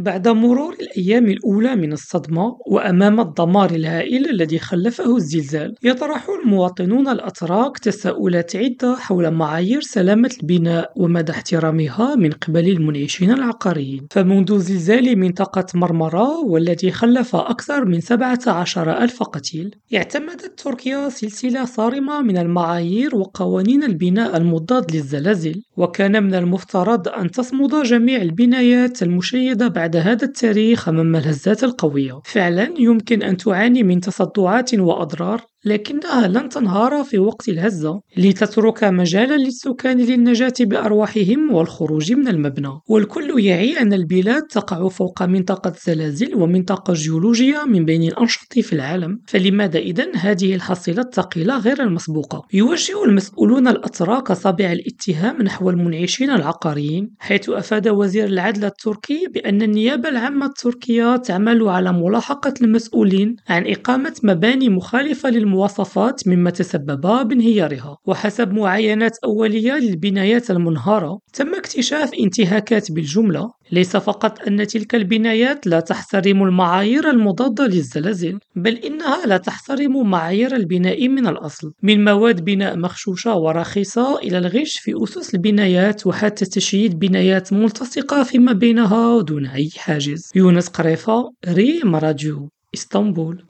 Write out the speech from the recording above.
بعد مرور الأيام الأولى من الصدمة وأمام الدمار الهائل الذي خلفه الزلزال، يطرح المواطنون الأتراك تساؤلات عدة حول معايير سلامة البناء ومدى احترامها من قبل المنعشين العقاريين. فمنذ زلزال منطقة مرمرة والذي خلف أكثر من 17 ألف قتيل، اعتمدت تركيا سلسلة صارمة من المعايير وقوانين البناء المضاد للزلازل، وكان من المفترض أن تصمد جميع البنايات المشيدة بعد هذا التاريخ أمام الهزات القوية. فعلا يمكن أن تعاني من تصدعات وأضرار، لكنها لن تنهار في وقت الهزة لتترك مجالا للسكان للنجاة بأرواحهم والخروج من المبنى. والكل يعي أن البلاد تقع فوق منطقة زلازل ومنطقة جيولوجية من بين الأنشط في العالم، فلماذا إذن هذه الحصيلة الثقيلة غير المسبوقة؟ يوجه المسؤولون الأتراك أصابع الاتهام نحو المنعشين العقاريين، حيث أفاد وزير العدل التركي بأن النيابة العامة التركية تعمل على ملاحقة المسؤولين عن إقامة مباني مخالفة للمواصفات مما تسبب بانهيارها. وحسب معاينات أولية للبنايات المنهارة، تم اكتشاف انتهاكات بالجملة، ليس فقط أن تلك البنايات لا تحترم المعايير المضادة للزلازل، بل إنها لا تحترم معايير البناء من الأصل، من مواد بناء مغشوشة ورخيصة إلى الغش في أسس البنايات وحتى تشييد بنايات ملتصقة فيما بينها دون أي حاجز. يونس قريفة، ريم راديو، اسطنبول.